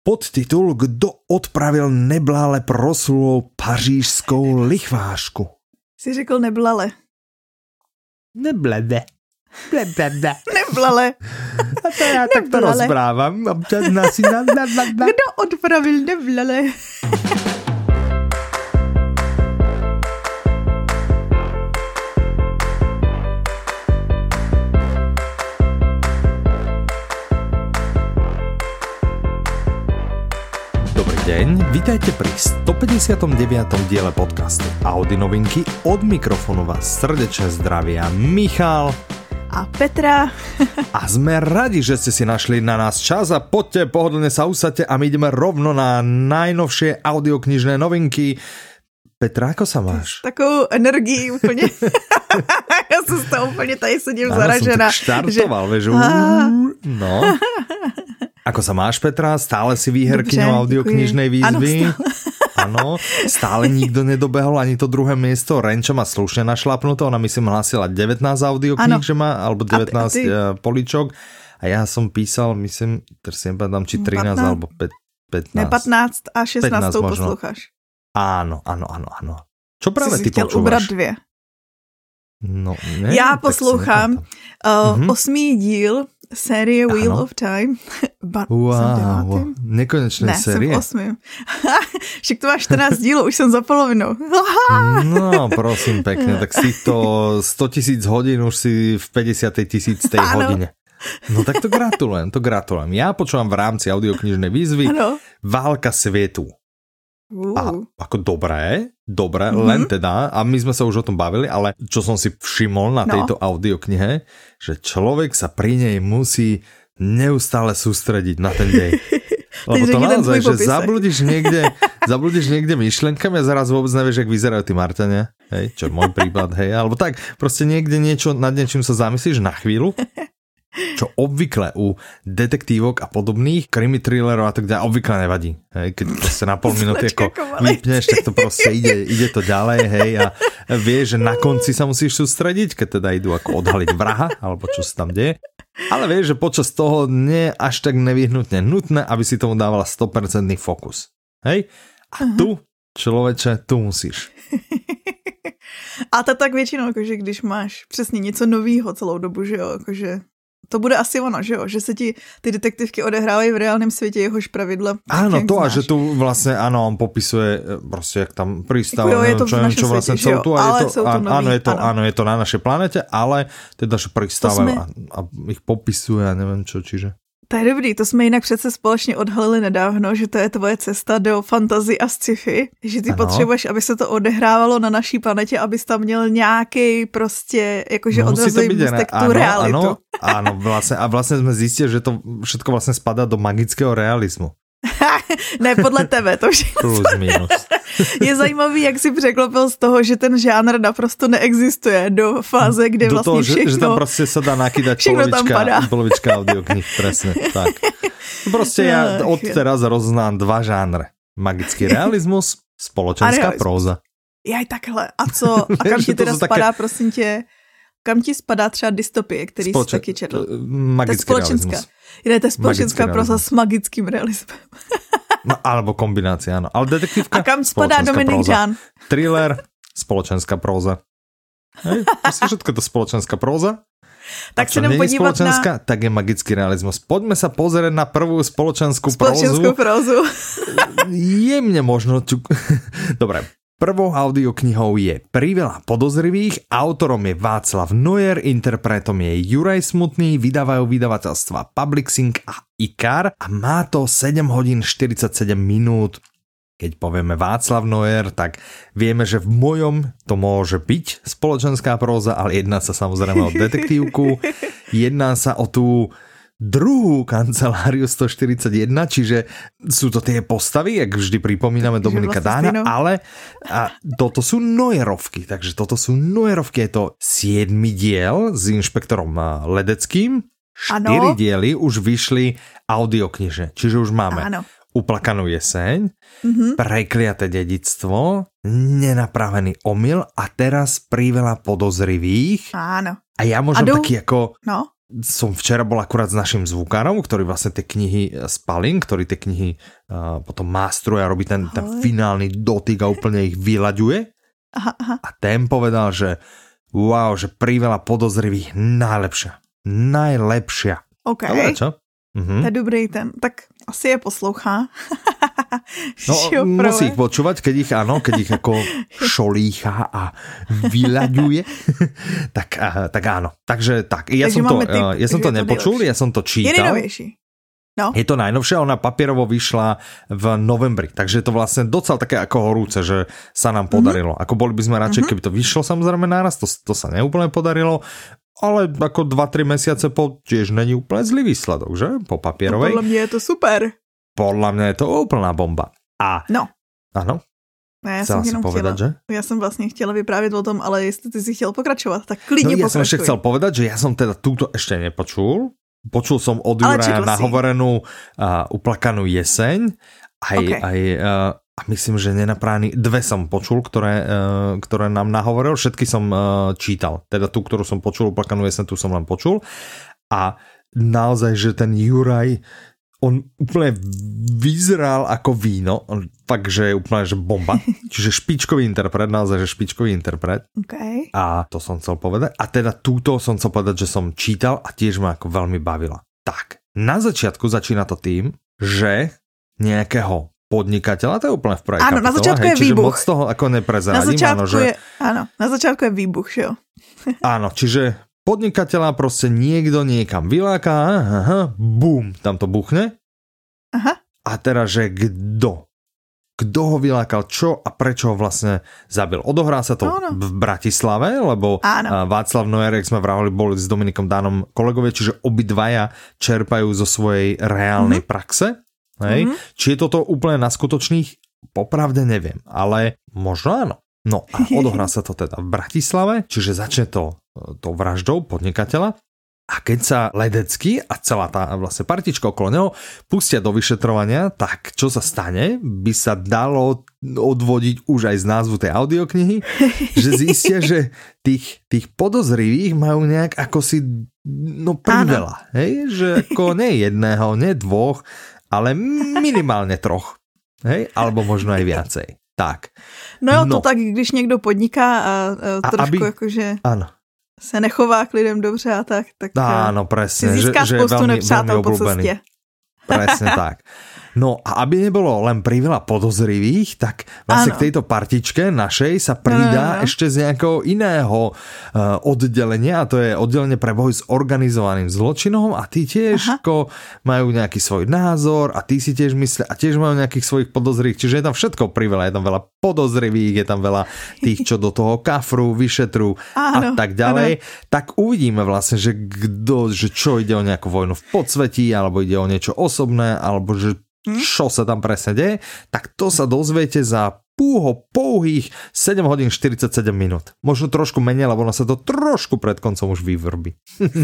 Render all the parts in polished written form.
Podtitul Kdo odpravil neblále proslulou pařížskou lichvářku? Jsi řekl neblale. Neblade. Neblale. A to já takto rozprávám. Kdo odpravil neblale? Dobrý deň, vítajte pri 159. diele podcastu Audi novinky. Od mikrofónu vás srdečne zdravia Michal a Petra. A sme radi, že ste si našli na nás čas a poďte, pohodlne sa usadte a my ideme rovno na najnovšie audioknižné novinky. Petra, ako sa máš? Takovou energii úplně. Já se z toho úplně tady sedím zaražená. Áno, som tak štartoval, vieš. No. Ako sa máš, Petra? Stále si výherkyňou audioknižnej výzvy? Áno, stále nikto nedobehol ani to druhé miesto. Renča má slušne našlapnuté, ona myslím hlásila 19 audiokníh, že má, alebo 19 políčok. A ja som písal, myslím, teraz si nepamätám, či 13 alebo 15. Ne, 15 a 16 posloucháš. Áno. Čo práve ty počúvaš? Ubrat 2. No, ne, já poslouchám 8. díl série Wheel of Time. Wow, nekonečné série. Ne, jsem v 8. Však to máš 14 dílů, už jsem za polovinou. No, prosím pekne, tak si to 100 000 hodín, už si v 50 000 hodine. No tak to gratulujem. Ja počúvam v rámci audioknižnej výzvy Válka svietu. A ako dobré, len teda, a my sme sa už o tom bavili, ale čo som si všimol na tejto audioknihe, že človek sa pri nej musí neustále sústrediť na ten dej. Lebo to naozaj, že zabludíš niekde myšlenkami a zaraz vôbec nevieš, jak vyzerajú tí Marťania, hej, čo je môj prípad, hej, alebo tak, proste niekde nad niečím sa zamyslíš na chvíľu, čo obvykle u detektívok a podobných krimi thrillerov a tak ďalej obvykle nevadí. Hej, keď proste na pol minúty ako vypneš, tak to proste ide to ďalej, hej, a vieš, že na konci sa musíš sústrediť, keď teda idú ako odhaliť vraha, alebo čo sa tam deje. Ale vieš, že počas toho nie až tak nevyhnutne nutné, aby si tomu dávala 100% fokus. Hej? A tu, človeče, tu musíš. A to tak většinou, jakože když máš přesně něco novýho celou dobu, že jo, jakože to bude asi ono, že jo? Že se ti ty detektivky odehrávají v reálném světě, jehož pravidla. Áno, to znáš. A že tu vlastne, áno, on popisuje proste, jak tam pristáva, čo vlastne celú tu, áno, je to na našej planete, ale teda, že pristáva a ich popisuje a neviem čo, čiže. To je dobrý, to jsme jinak přece společně odhalili nedávno, že to je tvoje cesta do fantasy a sci-fi, že ty potřebuješ, aby se to odehrávalo na naší planetě, abys tam měl nějaký prostě, jakože odrazový můstek tu realitu. Áno, vlastne sme zistili, že to všetko vlastne spadá do magického realizmu. Ne, podle tebe, to všechno. Plus minus. Je zajímavý, jak si překlopil z toho, že ten žánr naprosto neexistuje do fáze, kde do vlastně toho, všechno... že tam prostě se dá nakydať polovička audioknih, presne, tak. Proste ja od teraz roznám dva žánre. Magický realizmus, spoločenská próza. Jaj, takhle. A co? A kam ti teda spadá, prosím tě? Kam ti spadá třeba dystopie, který jsi taky četl? Magický realizmus. To je společenská próza s magickým realismem. No, alebo kombinácia, áno. Ale detektívka, a kam spadá Dominik Žán? Thriller, spoločenská próza. Hej, proste všetko je to spoločenská próza. Tak sa idem podívať na... Tak je magický realizmus. Poďme sa pozrieť na prvú spoločenskú prózu. Jemne možno... Dobre. Prvou audioknihou je Priveľa podozrivých, autorom je Václav Neuer, interpretom je Juraj Smutný, vydávajú vydavateľstva Publixing a IKAR a má to 7 hodín 47 minút. Keď povieme Václav Neuer, tak vieme, že v mojom to môže byť spoločenská próza, ale jedná sa samozrejme o detektívku, jedná sa o tú druhú kanceláriu 141, čiže sú to tie postavy, jak vždy pripomíname Dominika Dáňa, ale toto sú Neuerovky, takže toto sú Neuerovky, je to 7. diel s inšpektorom Ledeckým, 4 diely už vyšli audiokniže, čiže už máme Uplakanú jeseň, Prekliaté dedičstvo, Nenapravený omyl a teraz Priveľa podozrivých. Áno. A ja môžem taký ako som včera bol akurát s našim zvukárom, ktorý vlastne tie knihy spalím, ktorý tie knihy potom mástruje a robí ten finálny dotyk a úplne ich vyľaďuje. Aha. A ten povedal, že wow, že Priveľa podozrivých najlepšia. OK. Dobre, čo? To je dobrý ten. Tak asi je poslouchá. No, musí ich počúvať, keď ich ako šolícha a vyľaďuje. tak áno. Takže tak, ja som to nepočul, ja som to čítal. Je nejnovější. No. Je to najnovšia, ona papierovo vyšla v novembri, takže je to vlastne docela také ako horúce, že sa nám podarilo. Ako boli by sme radšej, keby to vyšlo samozrejme náraz, to sa neúplne podarilo, ale ako 2-3 mesiace po tiež není úplne zlý výsledok, že? Po papierovej. No, podľa mňa je to super. Podľa mňa je to úplná bomba. No. Áno. Já jsem jenom povedať, že? Já jsem vlastně chtěla vyprávět o tom, ale jestli ty si chtěl pokračovat, tak klidně pokračuj. Ja som ešte chcel povedať, že ja som teda túto ešte nepočul. Počul som od Juraja nahovorenú Uplakanú jeseň. A myslím, že Nenaprány 2 som počul, ktoré nám nahovoril. Všetky som čítal. Teda tú, ktorú som počul, Uplakanú jeseň, tu som len počul. A naozaj, že ten Juraj, on úplne vyzeral ako víno, takže je úplne, že bomba. Čiže špičkový interpret, naozaj, že špičkový interpret. Okay. A to som chcel povedať. A teda túto som chcel povedať, že som čítal a tiež ma ako veľmi bavila. Tak, na začiatku začína to tým, že nejakého podnikateľa, to je úplne v prvej kapitole. Áno, na začiatku je výbuch. Moc toho ako neprezradím. Na začiatku je výbuch, jo. Áno, čiže podnikateľa proste niekto niekam vyláka, bum, tam to buchne. Aha. A teraz, že kto ho vylákal, čo a prečo ho vlastne zabil. Odohrá sa to v Bratislave, lebo Václav Nojerek, sme vravali, boli s Dominikom Dánom kolegovia, čiže obidvaja čerpajú zo svojej reálnej praxe. Hej? Či je toto úplne na skutočných? Popravde neviem, ale možno áno. No a odohrá sa to teda v Bratislave, čiže začne to vraždou podnikateľa a keď sa Ledecký a celá tá vlastne partička okolo neho pustia do vyšetrovania, tak čo sa stane, by sa dalo odvodiť už aj z názvu tej audioknihy, že zistia, že tých podozrivých majú nejak ako si priveľa, hej? Že ako nie jedného, nie 2, ale minimálne 3, hej? Alebo možno aj viacej. Tak. No jo, to tak, když někdo podniká a trošku jakože se nechová k lidem dobře a tak áno, presne, si získá spoustu nepřátel po cestě. Presne tak. No a aby nebolo len priveľa podozrivých, tak vlastne k tejto partičke našej sa pridá ešte z nejakého iného oddelenia, a to je oddelenie pre boj s organizovaným zločinom a tí tiež majú nejaký svoj názor a tí si tiež myslia a tiež majú nejakých svojich podozrivých, čiže je tam všetko priveľa, je tam veľa podozrivých, je tam veľa tých, čo do toho kafru, vyšetru a tak ďalej. Tak uvidíme vlastne, že čo ide o nejakú vojnu v podsvetí, alebo ide o niečo osobné, alebo že čo sa tam presne deje, tak to sa dozviete za pouhých 7 hodín 47 minút. Možno trošku menej, lebo ono sa to trošku pred koncom už vyvrbí.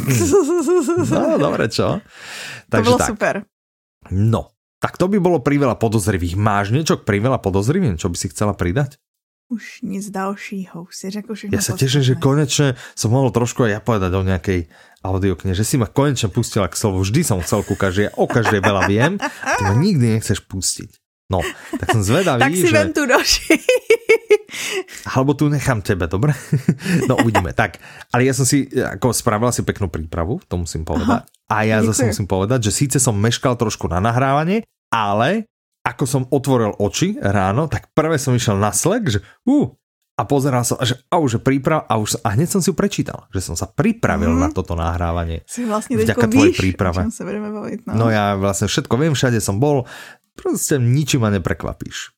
No, dobre, čo? Takže to bolo tak. Super. No, tak to by bolo priveľa podozrivých. Máš niečo k priveľa podozrivým, čo by si chcela pridať? Už nic dalšího, si řekl všechno. Ja sa teším, že konečne som mohol trošku aj ja povedať o nejakej audioknihe, že si ma konečne pustila k slovu. Vždy som chcel kúkať, že ja o každej veľa viem, a ty ma nikdy nechceš pustiť. No, tak som zvedavý, tak si vem tu doši. Alebo tu nechám tebe, dobre? No, uvidíme. Tak, ale ja som si, ako spravila si peknú prípravu, to musím povedať. A ja zase musím povedať, že síce som meškal trošku na nahrávanie, ale ako som otvoril oči ráno, tak prvé som išiel na Slack, že a pozeral som, že príprava a hneď som si ju prečítal, že som sa pripravil na toto nahrávanie. Si vlastne vďaka tvojej príprave. Sa budeme baviť, no ja vlastne všetko viem, všade som bol, proste ničím ma neprekvapíš.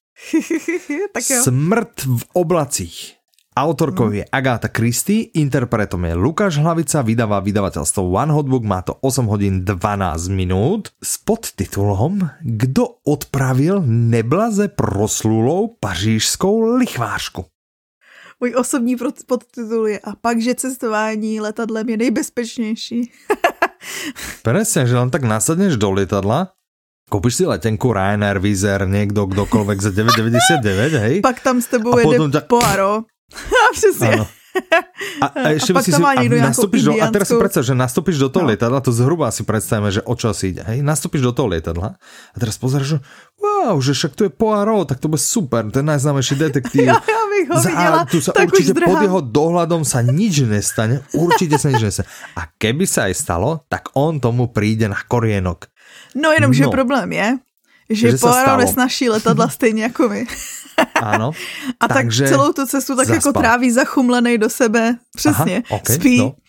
Smrt v oblacích. Autorkou je Agatha Christie, interpretom je Lukáš Hlavica, vydáva vydavateľstvo One Hot Book, má to 8 hodín 12 minút s podtitulom Kdo odpravil neblaze proslulou pařížskou lichvářku. Můj osobní podtitul je A pak, že cestování letadlem je nejbezpečnější. Presne, že len tak nasadneš do lietadla, kúpiš si letenku Ryanair, Wizz Air, niekto, kdokoľvek za 9,99, hej? Pak tam s tebou jede Poirot. A přesně. Áno. A ešte by si nastúpiš do, a teraz si predstav, že nastúpiš do toho lietadla, to zhruba si predstavíme, že o čo si ide, hej, nastúpiš do toho lietadla a teraz pozeráš, že wow, že však tu je Poirot, tak to bude super, ten najznámejší detektív. Ja bych ho videla, tu sa určite pod jeho dohľadom sa nič nestane, určite sa nič nestane. A keby sa aj stalo, tak on tomu príde na korienok. No jenomže problém je, že Poirot nesnaší letadla stejně jako my. Ano. A tak celou tu cestu tak jako tráví zachumlenej do sebe. Přesně. Aha, okay, spí. No.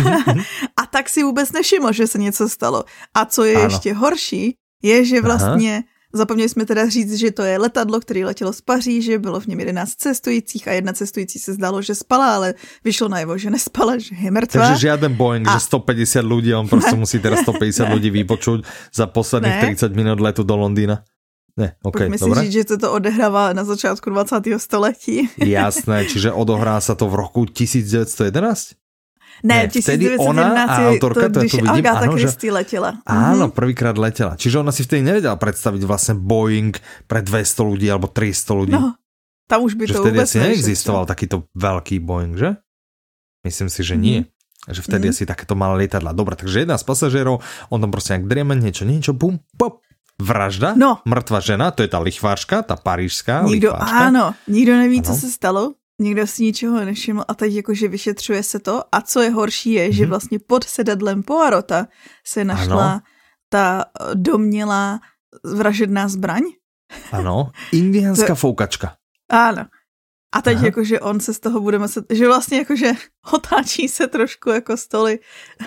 A tak si vůbec nevšiml, že se něco stalo. A co je ještě horší, je, že vlastně zapomněli jsme teda říct, že to je letadlo, které letělo z Paříže, bylo v něm 11 cestujících a jedna cestující se zdálo, že spala, ale vyšlo najevo, že nespala, že je mrtvá. Takže žiaden Boeing, že 150 ľudí, on prostě musí teraz 150 ľudí vypočuť za posledných 30 minut letu do Londýna. Ne, okay, pojďme si říct, že to odehrává na začátku 20. století. Jasné, čiže odohrá sa to v roku 1911? Ne, 1917 ona a autorka, to když vidím, Agatha Christie letěla. Áno, prvýkrát letela. Čiže ona si vtedy nevedela predstaviť vlastne Boeing pre 200 ľudí alebo 300 ľudí. No, tam už by to vtedy asi neexistoval takýto veľký Boeing, že? Myslím si, že nie. Že vtedy asi takéto malé lietadla. Dobre, takže jedna z pasažérov, on tam proste nejak drieme, niečo, bum, pop, vražda, mŕtva žena, to je tá lichvářka, tá parížská lichvářka. Áno, nikdo neví, co se stalo. Nikdo si ničeho nevšiml a teď jakože vyšetřuje se to a co je horší je, že vlastně pod sedadlem Poirota se našla ta domnělá vražedná zbraň. Ano, indiánská foukačka. Ano. A teď jakože on se z toho bude muset, že vlastně jakože otáčí se trošku jako stoly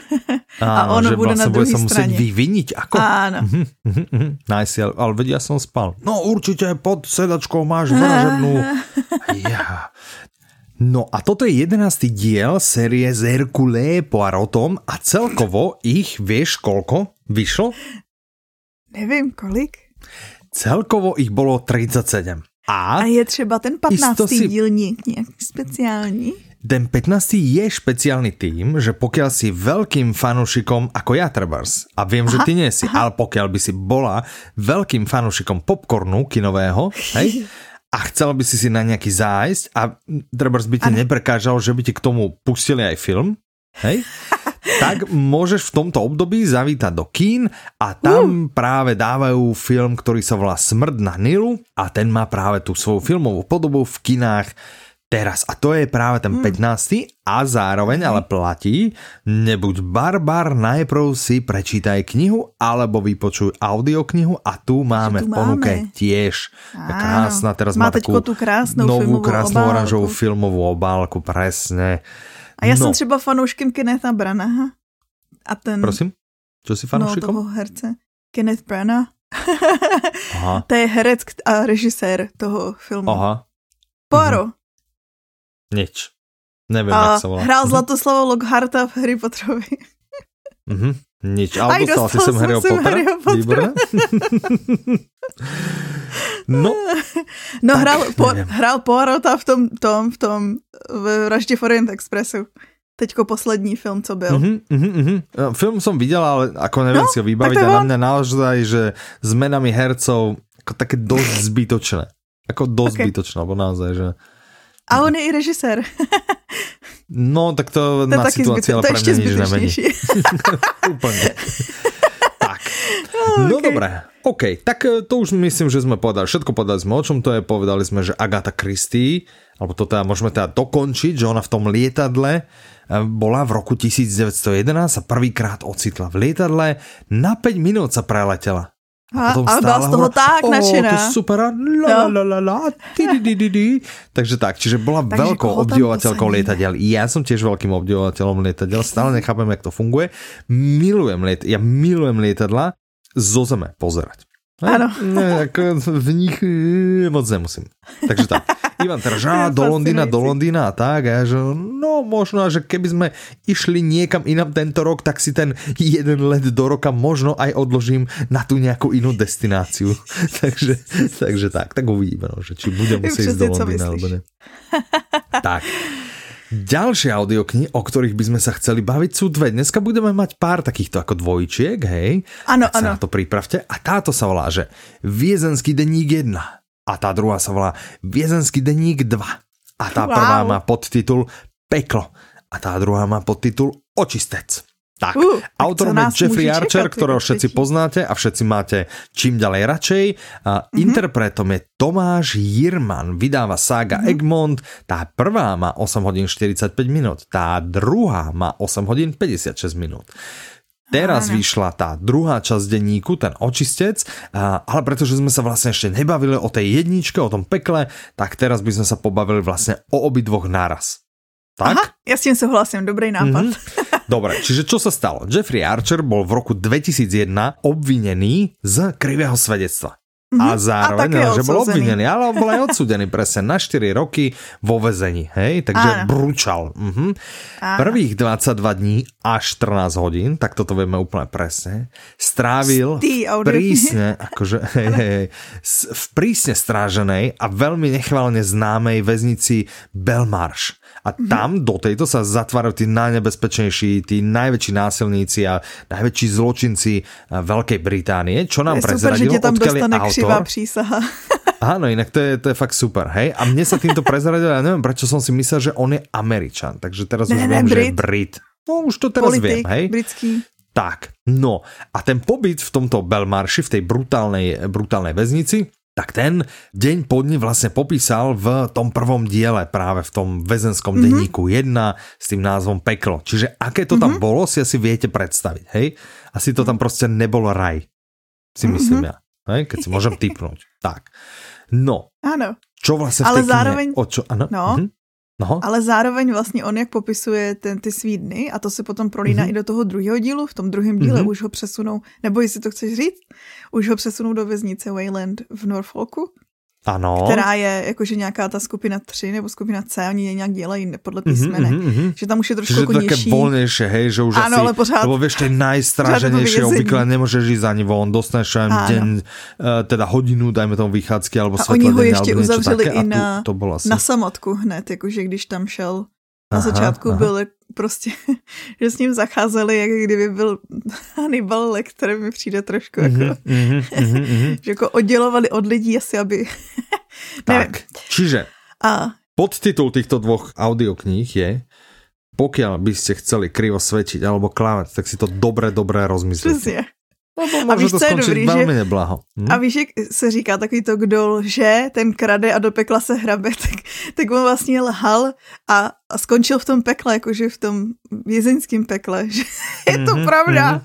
a on bude na druhé straně. Že sa musieť vyviniť, ako? Áno. Nice, ale veď ja som spal. No určite pod sedačkou máš vražednú. Ja. No a toto je 11. diel série z Hercule Poirotom a celkovo ich, vieš koľko vyšlo? Nevím, kolik. Celkovo ich bolo 37. A je třeba ten 15. díl nějaký speciální? Ten 15. je špeciálny tým, že pokiaľ si veľkým fanúšikom, ako ja trebárs, a viem, že ty nie si, ale pokiaľ by si bola veľkým fanúšikom popcornu kinového, hej, a chcela by si na nejaký zájsť a trebárs by ti neprekážal, že by ti k tomu pustili aj film, hej, tak môžeš v tomto období zavítať do kín a tam práve dávajú film, ktorý sa volá Smrť na Nilu a ten má práve tú svoju filmovú podobu v kinách teraz. A to je práve ten 15. a zároveň ale platí, nebuď barbar, najprv si prečítaj knihu alebo vypočuj audioknihu a tu máme v ponuke tiež. Krásna, teraz má takú novú krásnu oranžovú filmovú obálku, presne. A já jsem třeba fanouškem Kennetha Branaha. A ten... Prosím? Čo si fanouškom? No, toho herce. Kenneth Branagh. To je herec a režisér toho filmu. Aha. Poirot. Nič. Neviem, jak sa volá. Hrál Zlatoslava Lockharta v Harry Potterovi. Nič. Ale dostal si sem Harryho Pottera? Výborné. No hrál Poirota v tom v Vraždě v Orient Expressu. Teďko poslední film, co byl. Film som videl, ale ako neviem si ho vybaviť a na mňa naozaj, že zmenami hercov ako také dosť zbytočné. Ako dosť zbytočné, alebo naozaj, že... A on je i režisér. No, tak to na situáciu, ale pre mňa nič nemení. Úplne. Tak. No dobré. OK, tak to už myslím, že sme povedali. Všetko povedali sme, o čom to je. Povedali sme, že Agatha Christie, alebo to teda môžeme teda dokončiť, že ona v tom lietadle bola v roku 1911 a prvýkrát ocitla v lietadle. Na 5 minút sa preletela. A byla z toho tak nadšená. To je super. Takže tak, čiže bola veľkou obdivovateľkou lietadiel. Ja som tiež veľkým obdivovateľom lietadiel. Stále nechápem, jak to funguje. Ja milujem lietadla zo zeme pozerať. Áno. V nich moc nemusím. Takže tak. Ivan teraz, do Londýna a tak. A že, no možno, že keby sme išli niekam inam tento rok, tak si ten jeden let do roka možno aj odložím na tú nejakú inú destináciu. takže tak uvidíme, no, že či budem musieť ísť do Londýna, alebo ne. Tak. Ďalšie audioknihy, o ktorých by sme sa chceli baviť, sú dve. Dneska budeme mať pár takýchto ako dvojičiek, hej? Áno, áno. Sa na to pripravte. A táto sa volá, že Viezenský denník 1. A tá druhá sa volá Viezenský denník 2. A tá prvá má podtitul Peklo. A tá druhá má podtitul Očistec. Tak, autorom je Jeffrey Archer, ktorého všetci poznáte a všetci máte čím ďalej radšej. Interpretom je Tomáš Jirman, vydáva Saga Egmont. Tá prvá má 8 hodín 45 minút, tá druhá má 8 hodín 56 minút. Teraz vyšla tá druhá časť denníku, ten Očistec, ale pretože sme sa vlastne ešte nebavili o tej jedničke, o tom pekle, tak teraz by sme sa pobavili vlastne o obidvoch naraz. Tak? Aha, ja s tým súhlasím, dobrý nápad. Dobre, čiže čo sa stalo? Jeffrey Archer bol v roku 2001 obvinený z krivého svedectva. A zároveň, že bol obvinený, ale bol aj odsúdený presne na 4 roky vo väzení, hej? Takže brúčal. Prvých 22 dní až 14 hodín, tak toto vieme úplne presne, strávil prísne, akože, v prísne stráženej a veľmi nechválne známej väznici Belmarsh. A tam do tejto sa zatvárajú tí najnebezpečnejší, tí najväčší násilníci a najväčší zločinci Veľkej Británie, čo nám prezradil, odkiaľ je autor. Prísaha. Áno, inak to je fakt super, hej? A mne sa týmto prezradil, ja neviem, prečo som si myslel, že on je Američan, takže teraz už viem, že je Brit. No už to teraz viem, hej? Britský. Tak, no a ten pobyt v tomto Belmarshi, v tej brutálnej väznici, tak ten deň po dni vlastne popísal v tom prvom diele, práve v tom väzenskom denníku 1 s tým názvom Peklo. Čiže aké to tam bolo, si asi viete predstaviť, hej? Asi to tam proste nebolo raj, si myslím ja, hej? Keď si môžem tipnúť. Tak, no, áno. Čo vlastne v tej knihe? No. Ale zároveň vlastně on, jak popisuje ty svý dny, a to se potom prolíná i do toho druhého dílu, v tom druhém díle už ho přesunou, nebo jestli to chceš říct, už ho přesunou do věznice Wayland v Norfolku. Ano. Která je jakože nějaká ta skupina 3 nebo skupina C, oni je nějak dělají podle písmenek, že tam už je trošku jako nižší. Čiže to také voľnejšie, hej, že už ano, asi, ale pořád, lebo vieš, tej najstráženejšie obvykle nemôžeš ísť ani von, dostaneš deň, teda hodinu, dajme tomu vychádzky, alebo svetla deň, alebo niečo také. A oni ho ještě uzavřeli i na samotku hned, jakože když tam šel. Na začátku byl prostě, že s ním zacházeli, jak kdyby byl Hannibal Lecter, mi přijde trošku jako, že jako oddělovali od lidí asi, aby... Tak, čiže podtitul týchto dvoch audiokníh je pokiaľ by ste chceli krivo svedčiť alebo klamať, tak si to dobre rozmyslíte. Přesně. A víš, co je dobrý, velmi neblaho. A víš, jak se říká takový to, kdo lže, ten krade a do pekla se hrabe, tak on vlastně lhal a skončil v tom pekle, jakože v tom vězeňském pekle. Je to pravda.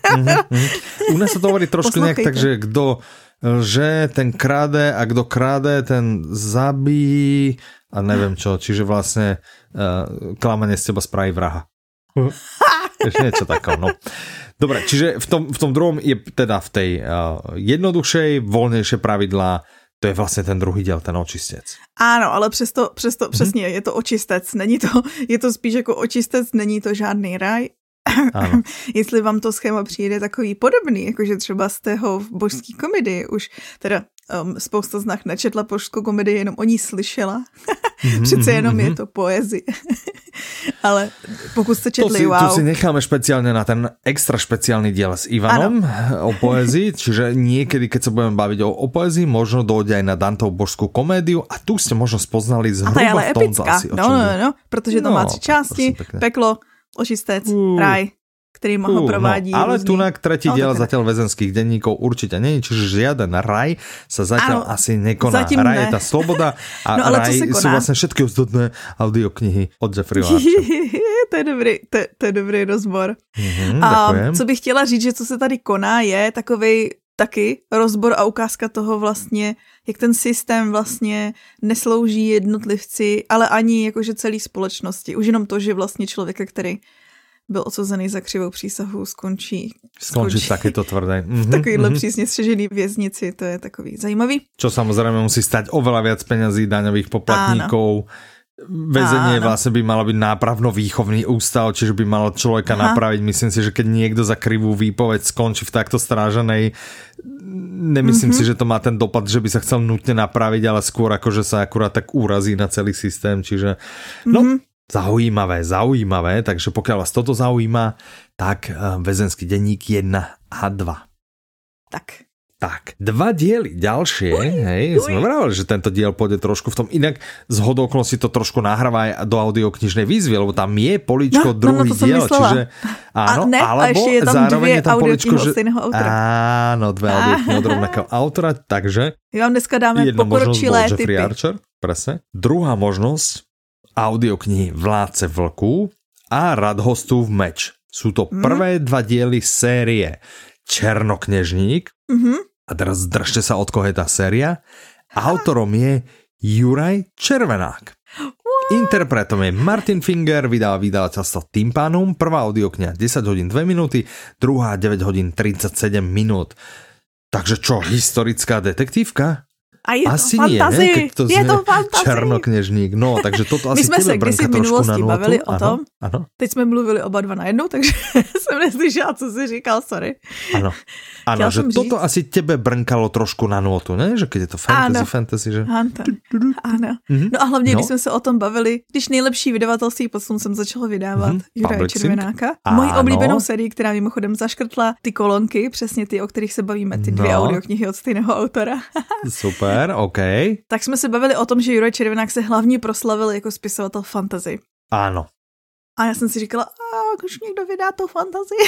U nás sa to hovorí trošku nejak tak, že kdo lže, ten krade a kdo krade, ten zabíjí a neviem čo. Čiže vlastne klamanie z teba spraví vraha. Ešte niečo takého, no. Dobre, čiže v tom druhom je teda v tej jednoduššej, voľnejšie pravidlá, to je vlastně ten druhý diel, ten Očistec. Áno, ale přesto přesně, je to Očistec, je to spíš jako Očistec, není to žádný raj. Ano. Jestli vám to schéma přijde takový podobný, jakože třeba z tého v božský komedii, už teda spousta z nás nečetla božskou komedii, jenom o ní slyšela. Přece jenom je to poezie. Ale pokud jste četli, to si necháme špeciálne na ten extra špeciálny diel s Ivanom o poezii, čiže niekedy, keď sa budeme baviť o poezii, možno dojde aj na Dantov božskú komédiu a tu ste možno spoznali zhruba v tom asi. No, protože to má 3 části, peklo, Očistec, raj, ktorý ho provádí. No, ale tu na tretí diel zatiaľ väzenských denníkov určite nie, čiže žiaden raj sa zatiaľ asi nekoná. Raj je tá sloboda a raj sú vlastne všetky ostatné audioknihy od Jeffreyho Archera. To je dobrý rozbor. A co bych chtěla říct, že co se tady koná, je takovej taky rozbor a ukázka toho vlastně, jak ten systém vlastně neslouží jednotlivci, ale ani jakože celý společnosti. Už jenom to, že vlastně člověka, který byl odsouzený za křivou přísahu, skončí takéto tvrdé. V takovýhle přísně střežený věznici, to je takový zajímavý. Čo samozrejme musí stať oveľa viac peňazí daňových poplatníkov. Väzenie vlastne by malo byť nápravno-výchovný ústav, čiže by malo človeka napraviť. Myslím si, že keď niekto za krivú výpoveď skončí v takto stráženej, nemyslím si, že to má ten dopad, že by sa chcel nutne napraviť, ale skôr ako, že sa akurát tak úrazí na celý systém, čiže zaujímavé, takže pokiaľ vás toto zaujíma, tak väzenský denník 1 a 2. Tak. Tak, 2 diely ďalšie, sme vravali, že tento diel pôjde trošku v tom, inak z hodoklosti to trošku nahráva aj do audioknižnej výzvy, lebo tam je políčko druhý diel, čiže áno, alebo je tam zároveň je tam políčko, že áno, 2 audioknihy od rovnakého autora, takže my vám dneska dáme pokročilé typy. Jeffrey Archer, presne. Druhá možnosť, audioknihy Vládce vlků a Radhostův meč. Sú to prvé 2 diely série Černoknežník. A teraz držte sa, od koho je tá séria. Autorom je Juraj Červenák. Interpretom je Martin Finger, vydáva vydavateľstvo Tympanum. Prvá audiokniha 10 hodín 2 minúty, druhá 9 hodín 37 minút. Takže čo, historická detektívka? A je asi to fantasy, je to fantasy. Černoknežník, no, takže toto asi tebe brnká trošku na nôtu. Bavili o tom, ano. Teď jsme mluvili oba dva najednou, takže jsem neslyšela, co jsi říkal, sorry. Áno, že toto asi tebe brnkalo trošku na nôtu, ne? Že keď je to fantasy, že... Áno. No a hlavně, když jsme se o tom bavili, když nejlepší vydavatelství posun jsem začala vydávat Juraje Červenáka. Mojí oblíbenou sérii, která mimochodem zaškrtla ty kolonky, přesně ty, o kterých se bavíme, ty 2 audioknihy od stejného autora. Super, OK. Tak jsme se bavili o tom, že Juraj Červenák se hlavně proslavil jako spisovatel fantasy. Áno. A já jsem si říkala, už někdo vydá to fantasy.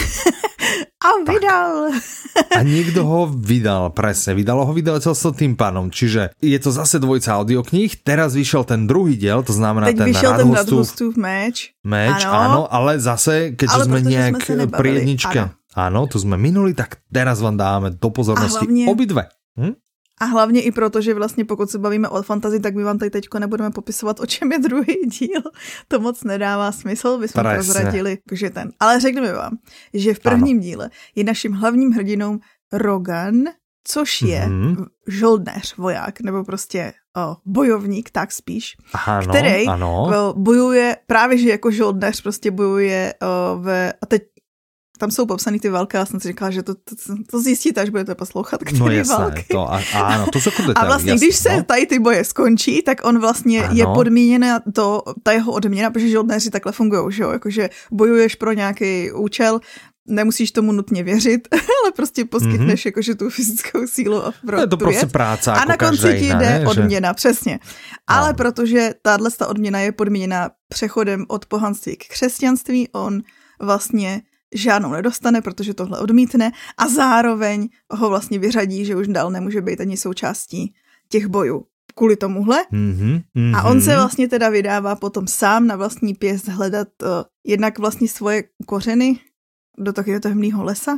A vydal. A niekto ho vydal, presne. Vydalo ho vydavateľstvo Tympanum. Čiže je to zase dvojica audiokníh. Teraz vyšiel ten druhý diel, to znamená teď ten Radhostův meč. Áno, ale zase, keďže sme nejak pri jedničke. Áno, tu sme minuli, tak teraz vám dáme do pozornosti obidve. A hlavně i proto, že vlastně pokud se bavíme o fantazii, tak my vám tady teďko nebudeme popisovat, o čem je druhý díl. To moc nedává smysl, bychom prozradili. Ale řekneme vám, že v prvním díle je naším hlavním hrdinou Rogan, což je žoldnéř, voják, nebo prostě bojovník, tak spíš, který bojuje, právě že jako žoldnéř prostě bojuje a teď tam jsou popsaný ty války, já jsem si říkala, že to zjistíte, až budete poslouchat, který války. Áno, to jsou detaily. A vlastně, když se tady ty boje skončí, tak on vlastně je podmíněna ta jeho odměna, protože žoldnéři takhle fungujou, že jo, jakože bojuješ pro nějaký účel, nemusíš tomu nutně věřit, ale prostě poskytneš jakože tu fyzickou sílu a je to prostě práce a na konci ti jde odměna, přesně. Ale protože tato odměna je podmíněna přechodem od pohanství k křesťanství, on vlastně žádnou nedostane, protože tohle odmítne a zároveň ho vlastně vyřadí, že už dál nemůže být ani součástí těch bojů kvůli tomuhle. A on se vlastně teda vydává potom sám na vlastní pěst hledat jednak vlastně svoje kořeny do takového temného lesa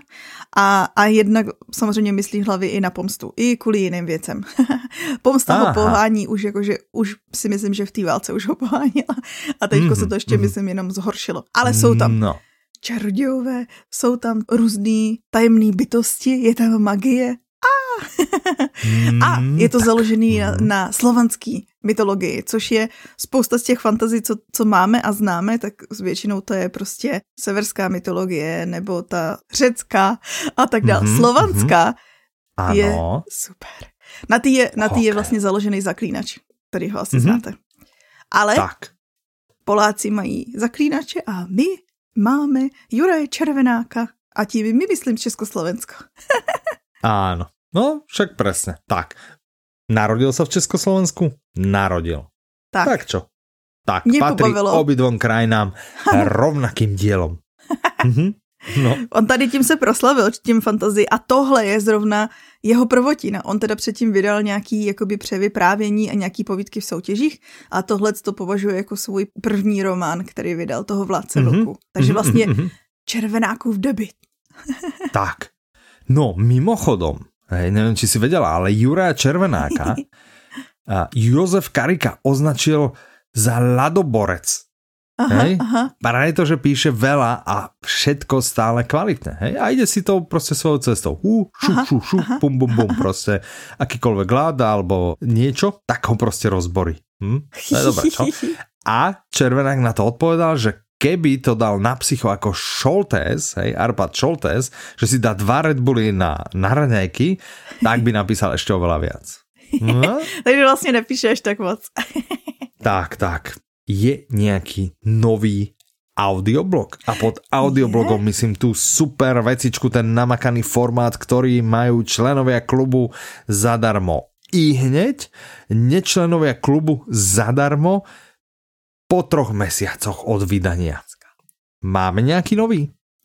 a jednak samozřejmě myslí hlavy i na pomstu, i kvůli jiným věcem. Pomsta ho pohání už jakože, už si myslím, že v té válce už ho pohánila a teďko se to ještě myslím jenom zhoršilo. Ale jsou tam čarodějové, jsou tam různý tajemný bytosti, je tam magie. A je to založený na slovanský mytologii, což je spousta z těch fantazí, co máme a známe, tak většinou to je prostě severská mytologie nebo ta řecká a tak dále. Slovanská je super. Na tý je vlastně založený zaklínač, který ho asi znáte. Ale Poláci mají zaklínače a my máme Juraje Červenáka a tím my myslím Československo. Áno. No, však presne. Tak. Narodil sa v Československu? Narodil. Tak čo? Tak, patrí obidvom krajinám rovnakým dielom. No. On tady tím se proslavil, tím fantazii a tohle je zrovna jeho prvotina. On teda předtím vydal nějaký jakoby převyprávění a nějaký povídky v soutěžích a tohle to považuje jako svůj první román, který vydal, toho Vládce vlků. Takže vlastně Červenákův debut. Tak. No, mimochodom, neviem, či si vedela, ale Juraja Červenáka Jozef Karika označil za ľadoborec. Pretože píše veľa a všetko stále kvalitné. Hej? A ide si to proste svojou cestou. Bum, bum, bum, proste akýkoľvek láda alebo niečo, tak ho proste rozborí. To je dobré, čo? A Červenák na to odpovedal, že keby to dal na psycho ako Šoltés, Arpad Šoltés, že si dá 2 Red Bully na raňajky, tak by napísal ešte oveľa viac. No? Takže vlastne nepíše až tak moc. Tak. Je nejaký nový audioblog. A pod audioblogom myslím tú super vecičku, ten namakaný formát, ktorý majú členovia klubu zadarmo. I hneď nečlenovia klubu zadarmo po 3 mesiacoch od vydania. Máme nejaký nový?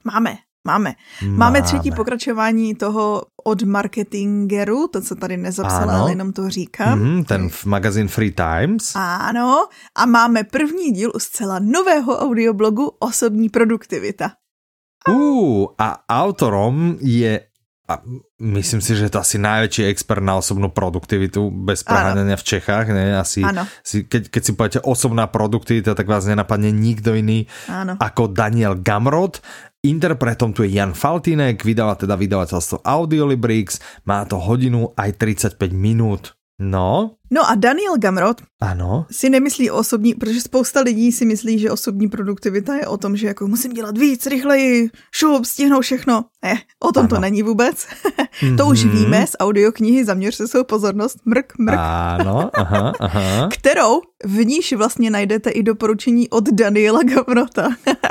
Máme třetí pokračování toho od marketingeru, to, co tady nezapsala, ale jenom to říkám. Ten magazín Free Times. Ano, a máme první díl zcela nového audioblogu Osobní produktivita. A autorom je, a myslím si, že je to asi najväčší expert na osobnú produktivitu bez preháňania v Čechách. Ne? Asi, keď si poviete osobná produktivita, tak vás nenapadne nikto iný ako Daniel Gamrot. Interpretom tu je Jan Faltýnek, vydala teda vydavateľstvo Audiolibrix, má to hodinu aj 35 minút. No a Daniel Gamrot si nemyslí o osobní, protože spousta lidí si myslí, že osobní produktivita je o tom, že jako musím dělat víc, rychleji, šup, stihnout všechno. O tom to není vůbec. To už víme z audioknihy Zaměř se svou pozornost, mrk. Ano, aha. Kterou v níž vlastně najdete i doporučení od Daniela Gamrota.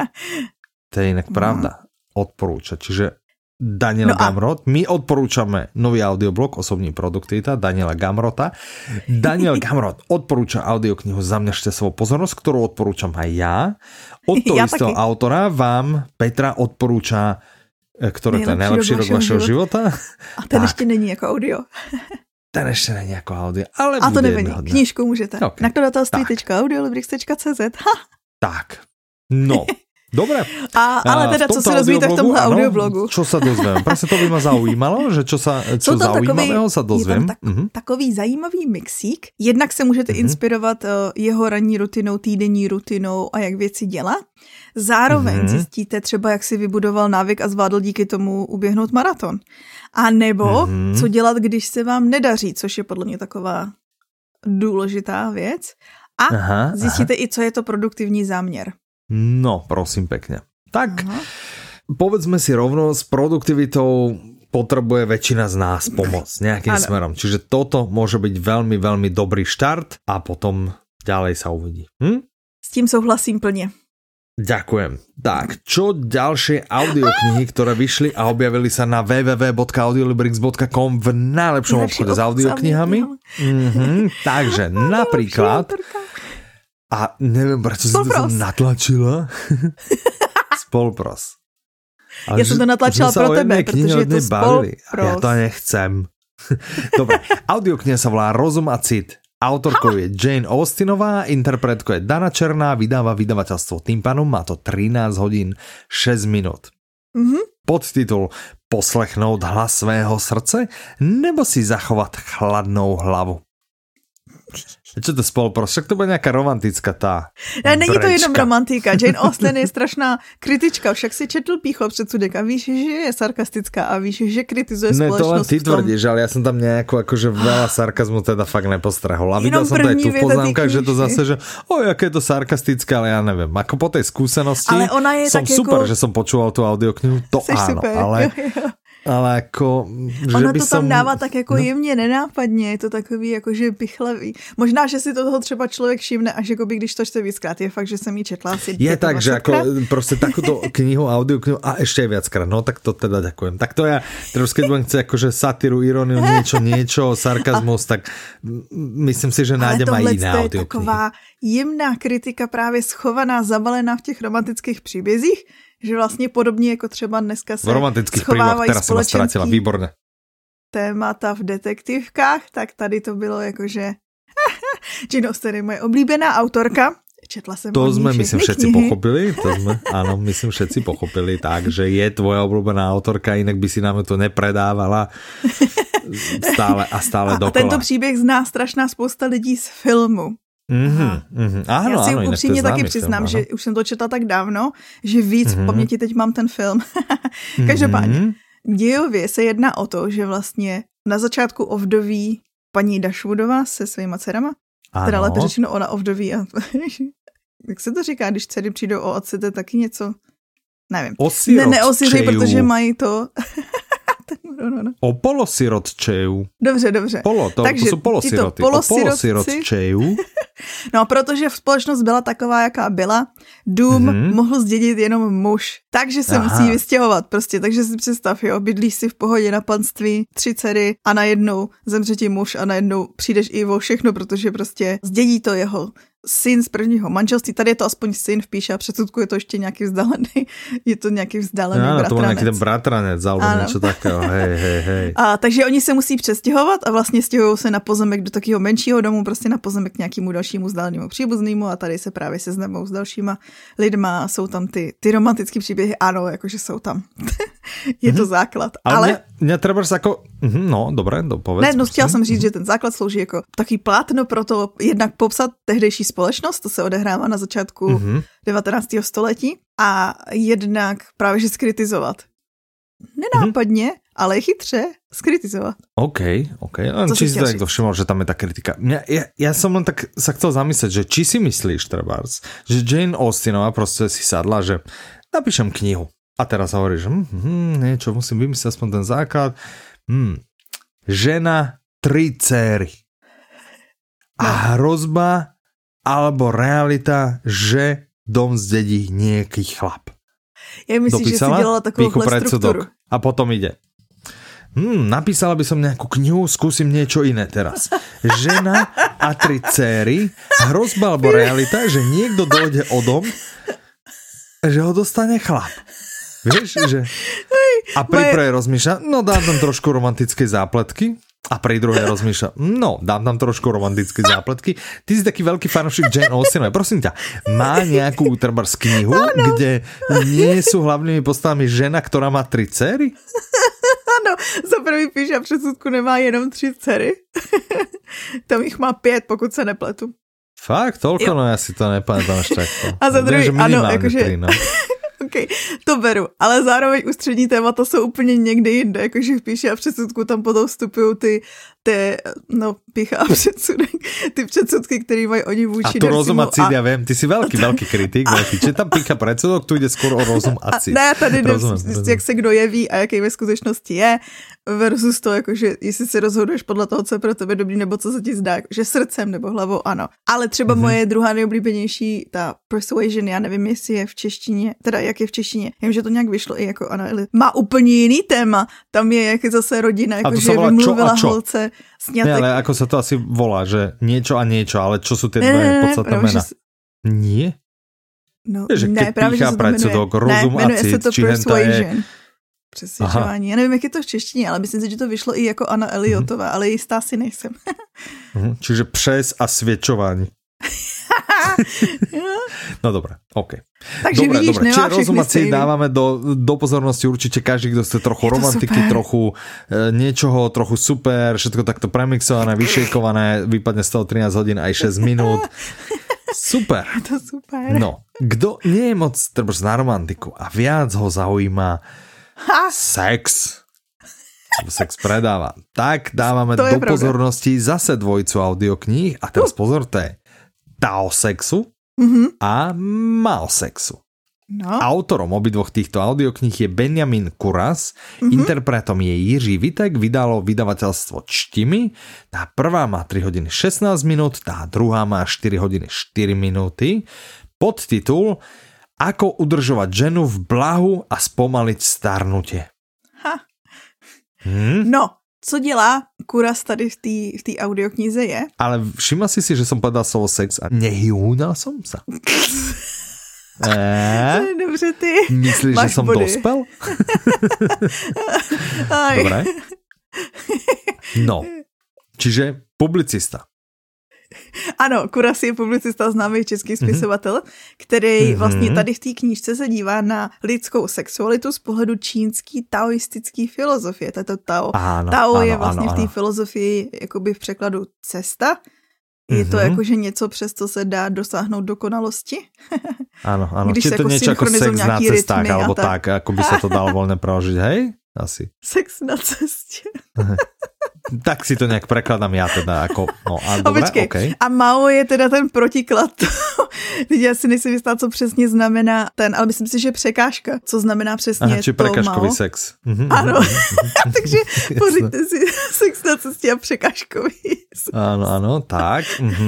To je inak pravda. Odporúča. Čiže Daniel Gamrot. My odporúčame nový audioblog Osobní produktivita Daniela Gamrota. Daniel Gamrot odporúča audioknihu Zaměřte svou pozornosť, ktorú odporúčam aj ja. Od toho istého autora vám Petra odporúča, ktoré to je najlepší rok vašeho života. A ten ešte není ako audio. Ten ešte není ako audio. Ale a to nevadí. Knížku můžete. Okay. Nakladatelství.audiolibrix.cz Tak. No. Dobre. Ale teda, co se dozvíte v tomhle audioblogu? Čo sa dozviem? Presne to by ma zaujímalo, že čo zaujímavého sa dozviem. Takový zajímavý mixík. Jednak se můžete inspirovat jeho ranní rutinou, týdenní rutinou a jak věci dělá. Zároveň zjistíte třeba, jak si vybudoval návyk a zvládl díky tomu uběhnout maraton. A nebo co dělat, když se vám nedaří, což je podle mě taková důležitá věc. A zjistíte i, co je to produktivní záměr. No, prosím pekne. Tak, povedzme si rovno, s produktivitou potrebuje väčšina z nás pomoc nejakým smerom. Čiže toto môže byť veľmi, veľmi dobrý štart a potom ďalej sa uvidí. S tím souhlasím plne. Ďakujem. Tak, čo ďalšie audioknihy, ktoré vyšli a objavili sa na www.audiolibrix.com v najlepšom obchode s audioknihami? Takže napríklad... A neviem, prečo si to natlačila. Spolpros. Ja som to natlačila pro tebe, pretože je to Spolpros. Ja to nechcem. Dobre, audiokniha sa volá Rozum a cit. Autorkou je Jane Austenová, interpretkou je Dana Černá, vydáva vydavateľstvo Tympanom, má to 13 hodín 6 minút. Podtitul Poslechnout hlas svého srdce nebo si zachovat chladnou hlavu. Čo to Spolpros? Však to bude nejaká romantická tá. Není to jenom romantika. Jane Austen je strašná kritička. Však si četl Pýchov předsudek a víš, že je sarkastická a víš, že kritizuje spoločnosť. Ne, to len ty tvrdíš, ale ja som tam nejakú akože veľa sarkazmu teda fakt nepostrehol. A videl som to aj tu v poznámkach, že to zase, že aké je to sarkastické, ale ja neviem. Ako po tej skúsenosti ale ona je som tak super, jako... že som počúval tú audioknihu. To áno, super. Ale jako, že ono by to tam som... dává tak jako jemně, nenápadně, je to takový jakože pichlavý. Možná, že si toho třeba člověk všimne, až jakoby, když to čte víckrát, je fakt, že jsem ji četla asi. Je tak, že ako proste takúto knihu, audioknihu a ešte aj viackrát, no tak to teda ďakujem. Tak to ja, teraz keď budem chcieť akože satíru, iróniu, niečo, sarkazmus, tak myslím si, že nájdem aj iné audioknihy. Ale tohle je taková jemná kritika právě schovaná, zabalená v těch romantických příbězích, že vlastně podobně jako třeba dneska se schovávají společenský témata v detektivkách, tak tady to bylo jakože Jane Austen je moje oblíbená autorka. Četla jsem to sme, myslím, všetci pochopili. Áno, myslím, všetci pochopili tak, že je tvoja obľúbená autorka, inak by si nám to nepredávala stále dokola. A tento příběh zná strašná spousta lidí z filmu. Áno, já si upřímně taky přiznám, že už jsem to četla tak dávno, že víc v paměti teď mám ten film. Každopádně, dějově se jedná o to, že vlastně na začátku ovdoví paní Dashwoodová se svýma dcerama, teda lépe řečeno ona ovdoví a jak se to říká, když dcery přijdou o otce, to je taky něco, nevím. Neosiřej, protože mají to... O polosirotčeju. Dobře. Takže to jsou polosiroty. O polosirotčeju. No, protože společnost byla taková, jaká byla, dům mohl zdědit jenom muž, takže se musí vystěhovat prostě, takže si představ, jo, bydlíš si v pohodě na panství, 3 dcery a najednou zemře ti muž a najednou přijdeš i o všechno, protože prostě zdědí to jeho syn z prvního manželství, tady je to aspoň syn v píše a předsudku je to ještě nějaký vzdálený, je to nějaký vzdálený bratranec. To byl nějaký ten bratranec, alebo něco takého, hej. A takže oni se musí přestěhovat a vlastně stěhují se na pozemek do takového menšího domu, prostě na pozemek k nějakému dalšímu vzdálenému příbuznému a tady se právě seznamují s dalšíma lidma, jsou tam ty romantické příběhy, ano, jakože jsou tam. Je to základ. Ale mě třeba jako, no, dobré, povedz. Ne, chtěla jsem říct, že ten základ slouží jako takový plátno pro to jednak popsat tehdejší společnost, to se odehrává na začátku 19. století a jednak právě že skritizovat. Nenápadně, ale chytře skritizovat. OK. Či si to niekto všimol, že tam je tá kritika. Ja som len tak sa chcel zamyslieť, že či si myslíš, trebárs, že Jane Austenová proste si sadla, že napíšem knihu. A teraz hovorí, že niečo musím vymyslieť, aspoň ten základ. Žena, 3 céry. A hrozba alebo realita, že dom zdedí nejaký chlap. Ja myslím, že si dělala takovouhle struktúru. A potom ide. Napísala by som nejakú knihu, skúsim niečo iné teraz. Žena a 3 céry, hrozba alebo realita, že niekto dojde o dom, že ho dostane chlap. Vieš, že... A pri prvej rozmýšľa, no dám tam trošku romantické zápletky. A pri druhej rozmýšľa, no dám tam trošku romantické zápletky. Ty si taký veľký fanúšik Jane Austenovej. Prosím ťa, má nejakú trebárs knihu, kde nie sú hlavnými postavami žena, ktorá má 3 dcery? Ano, za prvý píš a předsudku nemá jenom 3 dcery. Tam jich má 5, pokud se nepletu. Fakt? Toľko? Jo. No ja si to nepamätám až takto. A za druhý, ano, jakože... 3, no. Okay, to beru, ale zároveň ústřední témata jsou úplně někde jinde, jakože v píši a předsudku tam potom vstupují ty pícha a předsudek, ty předsudky, které mají oni vůči Decimu. A to rozum a cít, já vím, ty jsi velký kritik, že tam pícha předsudok, tu jde skoro o rozum a cít. Ne, tady jde, jak se kdo jeví a jaký ve skutečnosti je, versus to, jakože jestli se rozhoduješ podle toho, co je pro tebe dobrý, nebo co se ti zdá, že srdcem nebo hlavou, ano. Ale třeba moje druhá nejoblíbenější, ta Persuasion, já nevím, jestli je v češtině, teda jak je v češtině, vím, že to nějak vyšlo i jako Anna Eli. Má úplně jiný téma, tam je jak zase rodina, jakože vymluvila holce sňatek. Ne, ale ako sa to asi volá, že niečo a niečo, ale čo sú tie dve podstatné mená? Nie? No, že ne, právě, že se to jmenuje, rozum a cít, či henta je... Přesvědčování. Já nevím, jak je to v češtině, ale myslím si, že to vyšlo i jako Anna Eliotová, ale jistá si nejsem. Čiže přes a svědčování. No dobré, OK. Takže dobre, vidíš, čiže rozumací dávame do pozornosti určite každý, kto chce trochu romantiky, trochu niečoho, trochu super, všetko takto premixované, vyšejkované, vypadne z toho 13 hodín aj 6 minút. Super. To super. No, kto nie je moc trebárs na romantiku a viac ho zaujíma sex predáva, tak dávame do pozornosti zase dvojicu audiokníh a teraz pozor, to je Tao sexu a Mao sexu. No. Autorom obidvoch týchto audiokníh je Benjamin Kuras, interpretom je Jiří Vitek, vydalo vydavateľstvo Čtimi. Tá prvá má 3 hodiny 16 minút, tá druhá má 4 hodiny 4 minúty. Podtitul Ako udržovať ženu v blahu a spomaliť starnutie. No, co dělá Kuras tady v té audioknize je... Ale všimla si, že som povedal slovo sex a nehýúnal som sa. Dobře, ty. Myslíš, že som dospel? Dobre. No, čiže publicista. Ano, Kuras je publicista, známý český spisovatel, který vlastně tady v té knížce se dívá na lidskou sexualitu z pohledu čínský taoistický filozofie. Tato Tao. Tao je vlastně v té filozofii jakoby v překladu cesta. Je to jakože něco, přes co se dá dosáhnout dokonalosti. Áno. Či to niečo ako sex na cestách, alebo tak, ako by sa to dalo voľne preložiť, hej? Asi. Sex na cestě. Tak si to nejak prekladám ja teda ako... No, a dobré, okay. A Mao je teda ten protiklad. Teď já si nejsem jistá, co přesně znamená ten, ale myslím si, že překážka. Co znamená přesně či to prekážkový Mao. sex. Ano, takže pořiďte si sex na cestě a překážkový sex. Ano, tak.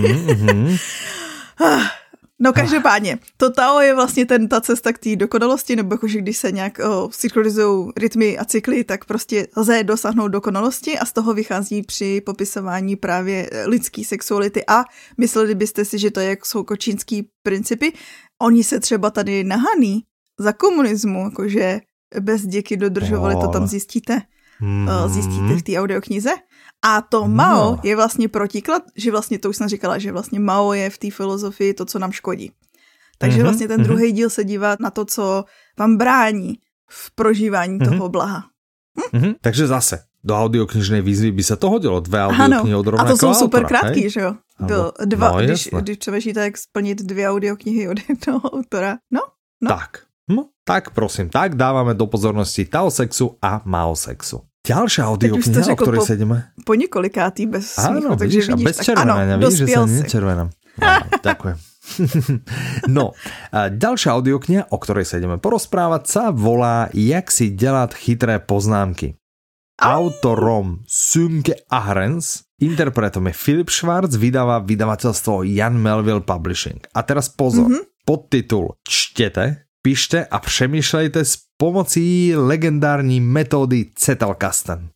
No každopádně, to Tao je vlastně ta cesta k té dokonalosti, nebo jakože když se nějak synchronizují rytmy a cykly, tak prostě lze dosáhnout dokonalosti a z toho vychází při popisování právě lidský sexuality a mysleli byste si, že to je jsou čínský principy. Oni se třeba tady nahaný za komunismu, jakože bez děky dodržovali, to tam zjistíte. Zjistíte v té audioknize. A to Mao je vlastně protiklad, že vlastně, to už jsem říkala, že vlastně Mao je v té filozofii to, co nám škodí. Takže vlastně ten druhý díl se dívá na to, co vám brání v prožívání toho blaha. Takže zase, do audioknižnej výzvy by sa to hodilo. 2 audioknihy od rovnakého autora. A to jsou super krátký, že jo? Když jasné. přemýšlíte, jak splnit 2 audioknihy od jednoho autora. No. Tak prosím, tak dávame do pozornosti Tao sexu a Mao sexu. Ďalšia audiokniha, o ktorej sedíme. Po několikátý bez smíchu, áno, takže vidíš, bez červenania, vidíš, že sa nečervenám. Ďakujem. No, ďalšia audiokniha, o ktorej sa ideme porozprávať, sa volá Jak si dělat chytré poznámky. Autorom Sönke Ahrens, interpretom je Philip Schwarz, vydáva vydavateľstvo Jan Melville Publishing. A teraz pozor, podtitul Čtete, píšte a přemýšlejte s pomocí legendární metódy Zettelkasten.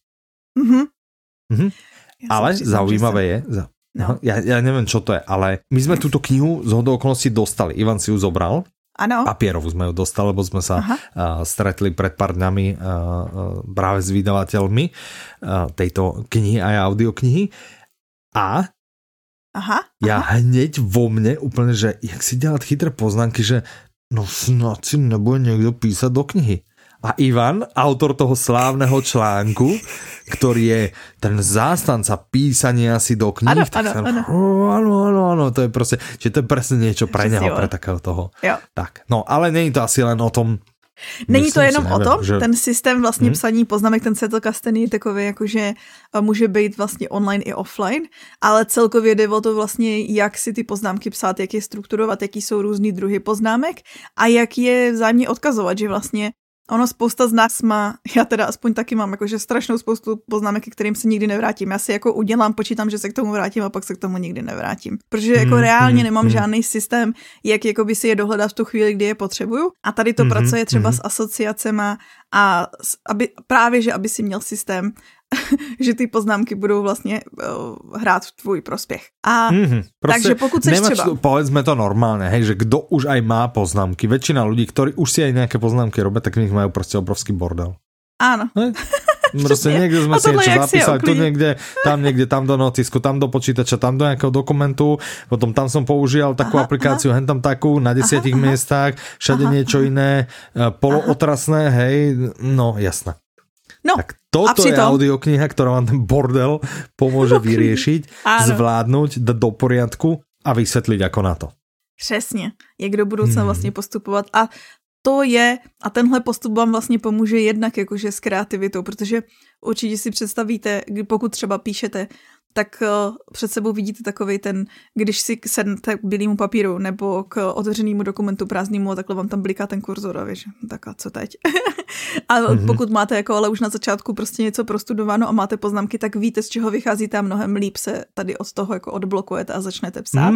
Ale zaujímavé je, ja neviem, čo to je, ale my sme túto knihu z hodou okolností dostali. Ivan si ju zobral. Ano. Papierovú sme ju dostali, lebo sme sa stretli pred pár dňami práve s vydavateľmi tejto knihy a audioknihy. A ja hneď vo mne úplne, že jak si dělat chytré poznámky, že no snad si nebude niekto písať do knihy. A Ivan, autor toho slávneho článku, ktorý je ten zástanca písania si do kníh, áno, to je proste, že to je presne niečo pre neho, pre takého toho. Jo. Tak, no, ale není to asi len o tom. Není to jenom o tom, že... ten systém vlastně psaní poznámek, ten Zettelkasten je takový, jakože může být vlastně online i offline, ale celkově jde o to vlastně, jak si ty poznámky psát, jak je strukturovat, jaký jsou různý druhy poznámek a jak je vzájemně odkazovat, že vlastně ono spousta z nás má, já teda aspoň taky mám jakože strašnou spoustu poznámek, ke kterým se nikdy nevrátím. Já si jako udělám, počítám, že se k tomu vrátím a pak se k tomu nikdy nevrátím. Protože jako reálně nemám žádný systém, jak jakoby si je dohledat v tu chvíli, kdy je potřebuju. A tady to pracuje třeba s asociacema a aby si měl systém, že ty poznámky budou vlastně hrát v tvůj prospěch. A takže pokud seš třeba... Povedzme to normálne, hej, že kdo už aj má poznámky, väčšina ľudí, ktorí už si aj nejaké poznámky robia, tak v nich majú proste obrovský bordel. Áno. Proste niekde sme si niečo zapísali, tu niekde, tam do notisku, tam do počítača, tam do nejakého dokumentu, potom tam som používal takú aplikáciu, hen tam takú, na 10 miestach, všade niečo iné, polootrasné, hej, no jasné. No, tak toto je audiokniha, ktorá vám ten bordel pomôže vyriešiť, zvládnuť, dať do poriadku a vysvetliť ako na to. Přesně, jak do budoucna vlastně postupovat a to je, a tenhle postup vám vlastně pomůže jednak jakože s kreativitou, protože určitě si představíte, pokud třeba píšete, tak před sebou vidíte takovej ten, když si sednete k bílému papíru nebo k otevřenému dokumentu prázdnému a takhle vám tam bliká ten kurzor a víš, tak a co teď? A pokud máte jako ale už na začátku prostě něco prostudováno a máte poznámky, tak víte, z čeho vycházíte a mnohem líp se tady od toho jako odblokujete a začnete psát.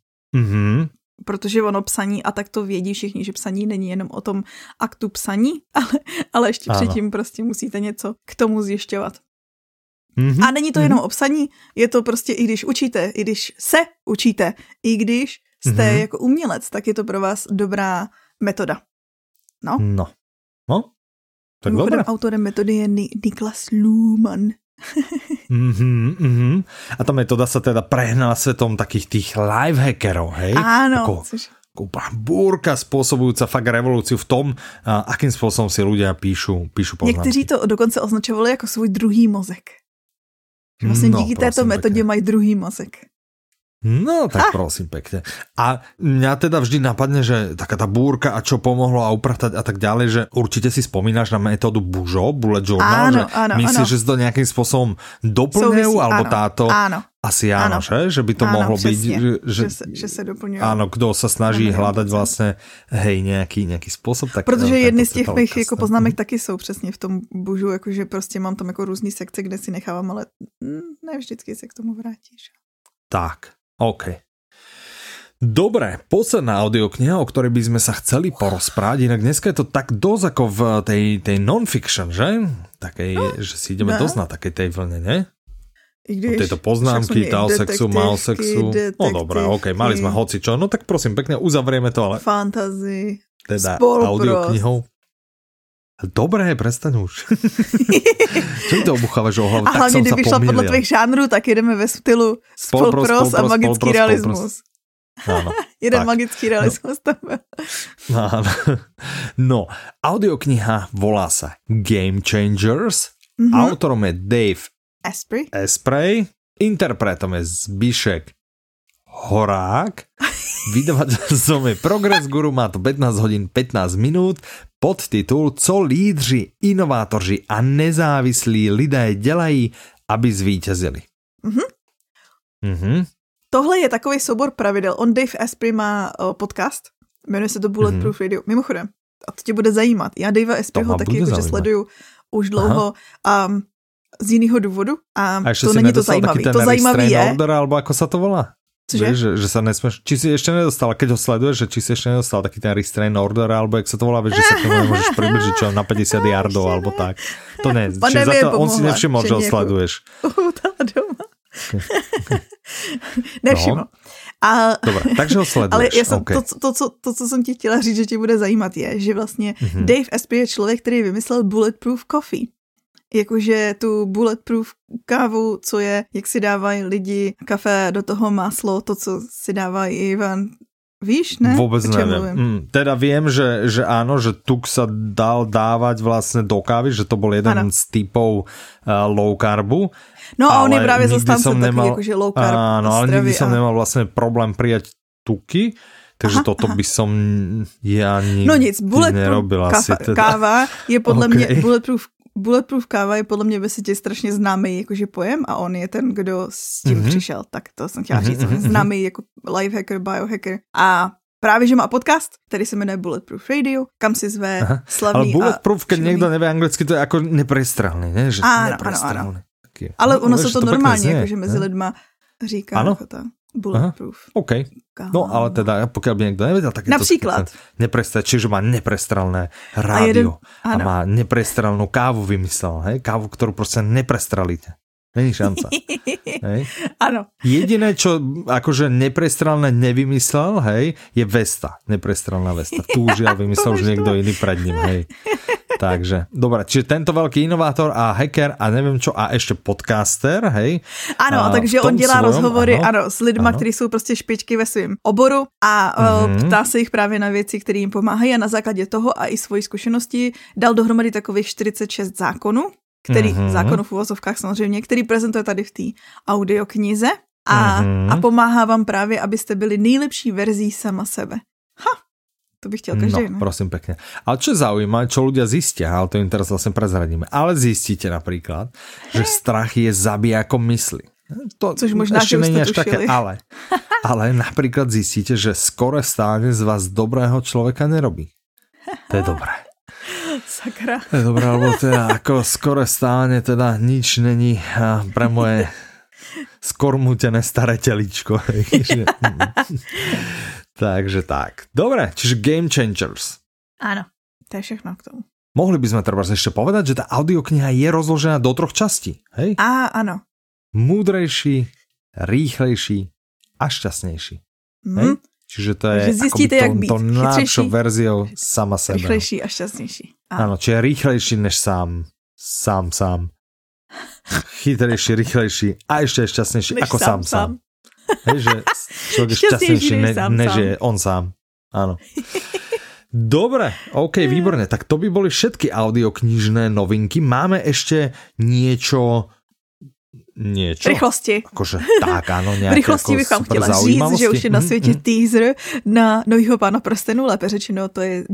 Protože ono psaní, a tak to vědí všichni, že psaní není jenom o tom aktu psaní, ale ještě předtím prostě musíte něco k tomu zjišťovat. A není to jenom o psaní, je to prostě i když učíte, i když se učíte, i když jste jako umělec, tak je to pro vás dobrá metoda. No. Tak dobré. Autorem metody je Niklas Luhmann. A tá metóda sa teda prehnala svetom takých tých lifehackerov, hej? Áno. Búrka spôsobujúca fakt revolúciu v tom, akým spôsobom si ľudia píšu poznámky. Někteří to dokonce označovali jako svůj druhý mozek. Vlastně díky této metodě mají druhý mozek. No, tak prosím pekne. A mňa teda vždy napadne, že taká tá búrka a čo pomohlo a upratať a tak ďalej, že určite si spomínaš na metódu Bužo, Bullet Journal, myslíš, že si to nejakým spôsobom doplňujú, alebo táto... Áno. Asi áno, že by to mohlo přesně, byť, že se doplňujú. Áno, kdo sa snaží hľadať vlastne, hej, nejaký spôsob. Tak, protože jedny z těch mých jako poznámek taky jsou přesně v tom Bužu, jakože prostě mám tam jako různý sekce, kde si nechávám, ale ne vždycky se k tomu vrátíš. Tak, OK. Dobre, posledná audiokniha, o ktorej by sme sa chceli porozprávať, inak dneska je to tak dosť ako v tej non-fiction, že? Takej, že si ideme dosť na takej tej vlne, ne? I když, tieto poznámky, tal sexu, mal sexu. No dobré, OK, mali sme hocičo. No tak prosím, pekne uzavrieme to, ale... Fantasy, teda audioknihou. Dobré, prestaň už. Čo mi to obuchávaš o hlavu? A hlavně, kdyby šla podle tvých žánrů, tak jedeme ve stylu spolpros a magický realismus. Áno, jeden tak. Magický realismus tam byl. No, audiokniha volá sa Game Changers. Autorom je Dave Asprey. Interpretom je Zbišek Horák. Vydavateľom je Progress Guru, má to 15 hodín 15 minút. Podtitul Co lídři, inovátoři a nezávislí lidé dělají, aby zvítězili. Tohle je takový soubor pravidel. Dave Asprey má podcast, jmenuje se to Bulletproof Radio. Mimochodem, a to tě bude zajímat. Já Davea Aspreyho taky jakože sleduju už dlouho z jiného důvodu a to není to zajímavý. To zajímavý je... Order, alebo ako sa to volá? Cože? Vieš, že sa nesmeš... Či si ešte nedostal, keď ho sleduješ, že či si ešte nedostal taký ten restrain order, alebo jak sa to volá, vieš, že sa k tomu nemôžeš približiť, čo na 50 yardov, alebo tak. To ne. Čiže za to on si nevšimol, že ho sleduješ. Doma. Nevšiml. A... Dobre, takže ho sleduješ. Ale ja som, to, co jsem ti chtěla říct, že ti bude zajímat, je, že vlastně Dave Asprey je člověk, který vymyslel Bulletproof Coffee. Jakože tu bulletproof kávu, co je, jak si dávají lidi kafe, do toho máslo, to, co si dávají Ivan. Víš, ne? Vôbec neviem. Teda viem, že áno, že tuk sa dal dávať vlastne do kávy, že to bol jeden z typov low carbu. No a on je právě zastáncem takový, jakože low carb. Áno, ale nikdy som nemal vlastne problém prijať tuky. Takže toto by som ja nikdy nerobil. Káva je podle mě Bulletproof káva je podle mě ve světě strašně známý jakože pojem a on je ten, kdo s tím přišel. Tak to jsem chtěla říct. Známý jako lifehacker, biohacker. A právě, že má podcast, který se jmenuje Bulletproof Radio, kam si zve slavný. Ale Bulletproof, keď někdo nevie anglicky, to je jako neprestrelný, ne? Že ano. Ale ono se to normálně, jakože mezi lidma říká jako to. Bulletproof. OK. No ale teda, pokiaľ by niekto nevedel, tak je napríklad. to čiže má neprestrelné rádio a má neprestrelnú kávu vymyslel, hej? Kávu, ktorú proste neprestrelíte. Není šanca. Hej? Áno. Jediné, čo akože neprestrelné nevymyslel, hej, je Vesta. Neprestrelná Vesta. Tu už ja vymyslel už niekto iný pred ním, hej. Takže, dobré, čiže tento veľký inovátor a hacker a neviem čo, a ešte podcaster, hej. Ano, takže on dělá rozhovory s lidma, kteří jsou prostě špičky ve svém oboru a ptá se jich právě na věci, které jim pomáhají a na základě toho a i svojí zkušenosti dal dohromady takových 46 zákonů, zákonů v uvozovkách samozřejmě, který prezentuje tady v té audioknize a pomáhá vám právě, abyste byli nejlepší verzí sama sebe. To bych chtěl každý, ne? Prosím pekne. Ale čo zaujíma, čo ľudia zistia, ale to im teraz vlastne prezradíme, ale zistíte napríklad, že strach je zabijakom mysli. To což možná, ešte nie až také, ale napríklad zistíte, že skoré vstávanie z vás dobrého človeka nerobí. To je dobré. Sakra. To je dobré, lebo teda ako skoré vstávanie teda nič není pre moje skormútené staré telíčko. Takže tak. Dobre, čiže Game Changers. Áno, to je všechno k tomu. Mohli by sme treba ešte povedať, že tá audiokniha je rozložená do 3 častí, hej? Áno. Múdrejší, rýchlejší a šťastnejší. Hej? Čiže to je zistíte, akoby to najlepšou verziou sama sebe. Rýchlejší a šťastnejší. Áno, čiže rýchlejší než sám. Chytrejší, rýchlejší a ešte šťastnejší než ako sám. Hej, že človek je šťastnejší, než je on sám. Áno. Dobre, OK, výborné. Tak to by boli všetky audioknižné novinky. Máme ešte niečo niečo. Rychlosti. Akože tak, áno, nejaké rychlosti bych vám chtěla říct, že už je na světě teaser na novýho Pána prstenů, lépe řečeno, to je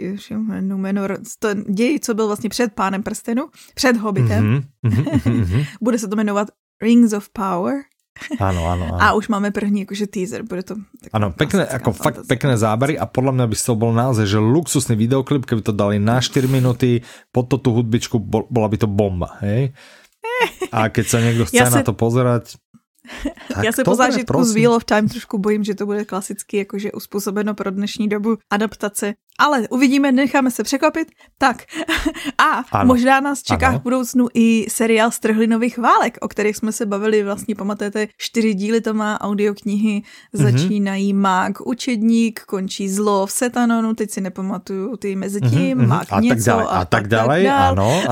děj, co byl vlastně před Pánem prstenů, před Hobbitem. Bude se to jmenovat Rings of Power. Áno. A už máme první jakože teaser, bude to... Áno, pekné, ako fakt pekné zábery a podľa mňa by to bol naozaj, že luxusný videoklip, keby to dali na 4 minúty, pod tú hudbičku, bola by to bomba, hej? A keď sa niekto chce na to pozerať... Já se po zážitku z Wheel of Time trošku bojím, že to bude klasicky jakože uspůsobeno pro dnešní dobu adaptace. Ale uvidíme, necháme se překvapit. Tak a ano, možná nás čeká v budoucnu i seriál Strhlinových válek, o kterých jsme se bavili, vlastně pamatujete, 4 díly to má, audioknihy, začínají Mák učedník, končí zlo v Setanonu, teď si nepamatuju ty mezi tím, Mák něco a tak dále. Ano.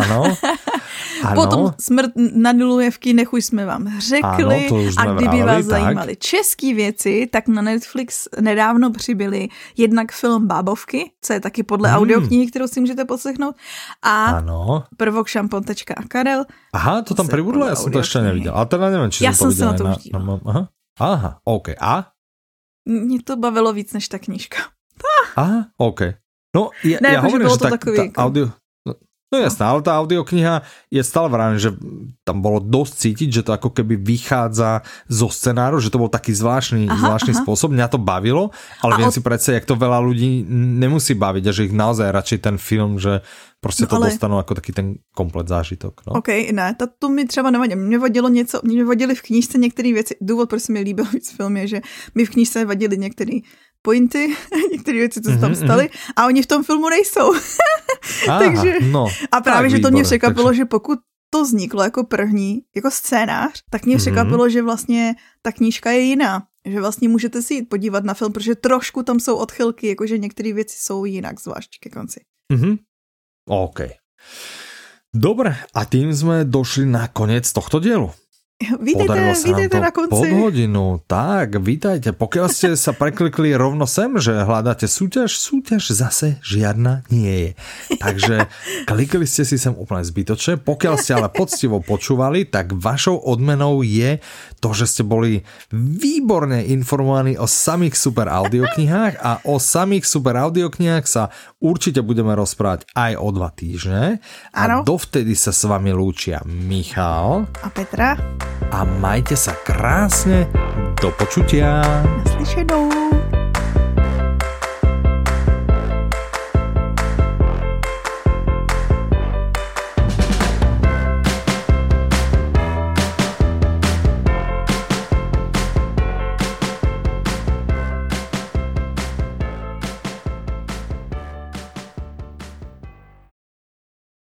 Potom Smrt na Nilujevky, nech už jsme vám řekli. Ano, a kdyby vás zajímaly české věci, tak na Netflix nedávno přibyly jednak film Bábovky, co je taky podle audioknihy, kterou si můžete poslechnout, a prvok Šampon.a Karel. Aha, to tam pribudlo? Ja som to ešte nevidel. Ale teda neviem, či som to videl. Ja som sa na to už dívala. Aha, OK. A? Mě to bavilo víc než ta knížka. Aha, OK. No, ja hovorím, že tá audio... No jasné, ale tá audiokniha je stále vrajím, že tam bolo dosť cítiť, že to ako keby vychádza zo scenáru, že to bol taký zvláštny spôsob. Mňa to bavilo, ale viem si predstaviť, jak to veľa ľudí nemusí baviť a že ich naozaj radšej ten film, že prostě to dostanou jako taký ten komplet zážitok. No. OK, ne, to mi třeba nevadí. Mě vadily v knížce některé věci. Důvod, proč se mi líbil víc film je, že mi v knížce vadily některé pointy, některé věci, co se tam staly, a oni v tom filmu nejsou. Takže, a právě, že to mě překvapilo, že pokud to vzniklo jako první, jako scénář, tak mě překvapilo, že vlastně ta knížka je jiná. Že vlastně můžete si jít podívat na film, protože trošku tam jsou odchylky, jakože některé věci jsou jinak, zvlášť ke konci. OK. Dobre, a tým sme došli na koniec tohto dielu. Vítejte na konci. Pod hodinu, tak, vítajte. Pokiaľ ste sa preklikli rovno sem, že hľadáte súťaž zase žiadna nie je. Takže klikli ste si sem úplne zbytočne. Pokiaľ ste ale poctivo počúvali, tak vašou odmenou je to, že ste boli výborne informovaní o samých super audioknihách a o samých super audioknihách sa určite budeme rozprávať aj o 2 týždne. A dovtedy sa s vami lúčia Michal a Petra. A majte sa krásne, do počutia. Naslyšenou.